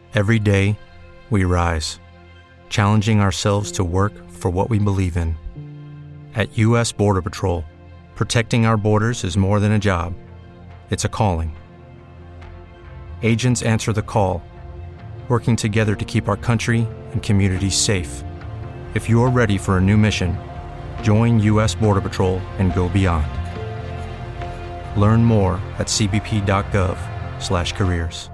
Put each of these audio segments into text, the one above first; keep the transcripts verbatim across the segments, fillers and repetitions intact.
Every day, we rise, challenging ourselves to work for what we believe in. At U S Border Patrol, protecting our borders is more than a job. It's a calling. Agents answer the call, working together to keep our country and communities safe. If you're ready for a new mission, join U S Border Patrol and go beyond. Learn more at c b p dot gov slash careers.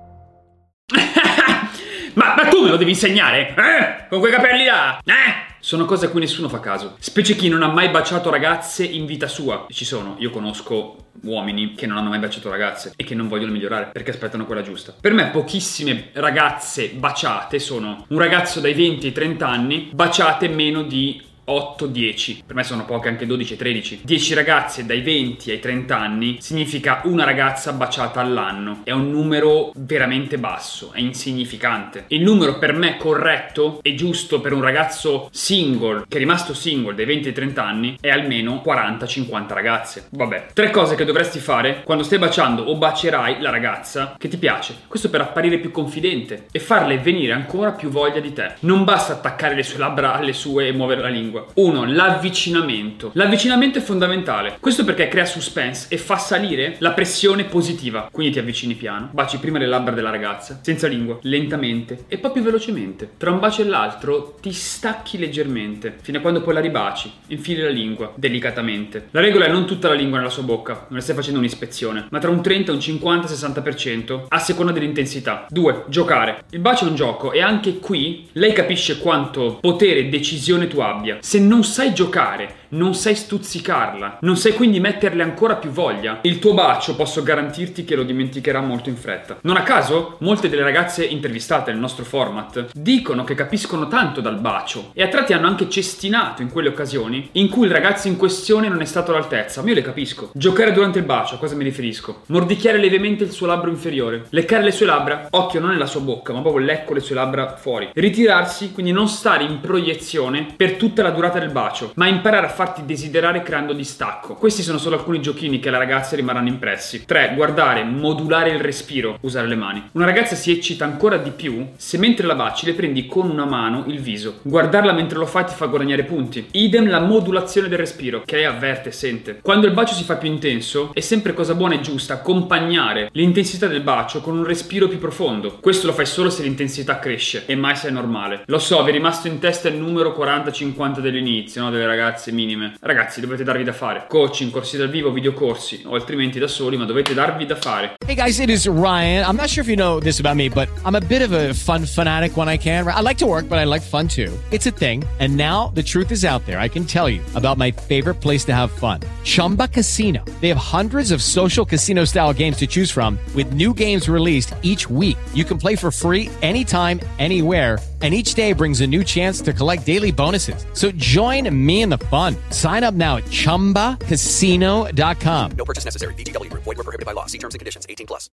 ma, ma tu me lo devi insegnare? Eh? Con quei capelli là? Eh? Sono cose a cui nessuno fa caso. Specie chi non ha mai baciato ragazze in vita sua. Ci sono, io conosco uomini che non hanno mai baciato ragazze e che non vogliono migliorare perché aspettano quella giusta. Per me pochissime ragazze baciate sono un ragazzo dai venti ai trenta anni baciate meno di otto dieci. Per me sono poche anche dodici tredici. dieci ragazze dai venti ai trenta anni significa una ragazza baciata all'anno. È un numero veramente basso, è insignificante. Il numero per me corretto e giusto per un ragazzo single, che è rimasto single dai venti ai trenta anni, è almeno quaranta cinquanta ragazze. Vabbè, tre cose che dovresti fare quando stai baciando o bacierai la ragazza che ti piace. Questo per apparire più confidente e farle venire ancora più voglia di te. Non basta attaccare le sue labbra alle sue e muovere la lingua. Uno, l'avvicinamento. L'avvicinamento è fondamentale. Questo perché crea suspense e fa salire la pressione positiva. Quindi ti avvicini piano, baci prima le labbra della ragazza, senza lingua, lentamente e poi più velocemente. Tra un bacio e l'altro ti stacchi leggermente, fino a quando poi la ribaci, infili la lingua, delicatamente. La regola è non tutta la lingua nella sua bocca, non le stai facendo un'ispezione, ma tra un trenta, un cinquanta, sessanta per cento a seconda dell'intensità. Due, giocare. Il bacio è un gioco e anche qui lei capisce quanto potere e decisione tu abbia. Se non sai giocare, non sai stuzzicarla, non sai quindi metterle ancora più voglia, il tuo bacio posso garantirti che lo dimenticherà molto in fretta. Non a caso, molte delle ragazze intervistate nel nostro format dicono che capiscono tanto dal bacio e a tratti hanno anche cestinato in quelle occasioni in cui il ragazzo in questione non è stato all'altezza. Ma io le capisco. Giocare durante il bacio, a cosa mi riferisco? Mordicchiare levemente il suo labbro inferiore, leccare le sue labbra, occhio non nella sua bocca, ma proprio lecco le sue labbra fuori. Ritirarsi, quindi non stare in proiezione per tutta la durata del bacio, ma imparare a farti desiderare creando distacco. Questi sono solo alcuni giochini che alle ragazze rimarranno impressi. tre. Guardare, modulare il respiro, usare le mani. Una ragazza si eccita ancora di più se mentre la baci le prendi con una mano il viso. Guardarla mentre lo fai ti fa guadagnare punti. Idem la modulazione del respiro, che lei avverte e sente. Quando il bacio si fa più intenso, è sempre cosa buona e giusta accompagnare l'intensità del bacio con un respiro più profondo. Questo lo fai solo se l'intensità cresce e mai se è normale. Lo so, vi è rimasto in testa il numero quaranta cinquanta dell'inizio, no? Delle ragazze minime. Ragazzi, dovete darvi da fare. Coaching, corsi dal vivo, videocorsi, o altrimenti da soli, ma dovete darvi da fare. Hey guys, it is Ryan. I'm not sure if you know this about me, but I'm a bit of a fun fanatic when I can. I like to work, but I like fun too. It's a thing. And now the truth is out there. I can tell you about my favorite place to have fun. Chumba Casino. They have hundreds of social casino style games to choose from with new games released each week. You can play for free anytime, anywhere. And each day brings a new chance to collect daily bonuses. So join me in the fun. Sign up now at chumba casino dot com. No purchase necessary. V G W Group. Void where prohibited by law. See terms and conditions. eighteen plus.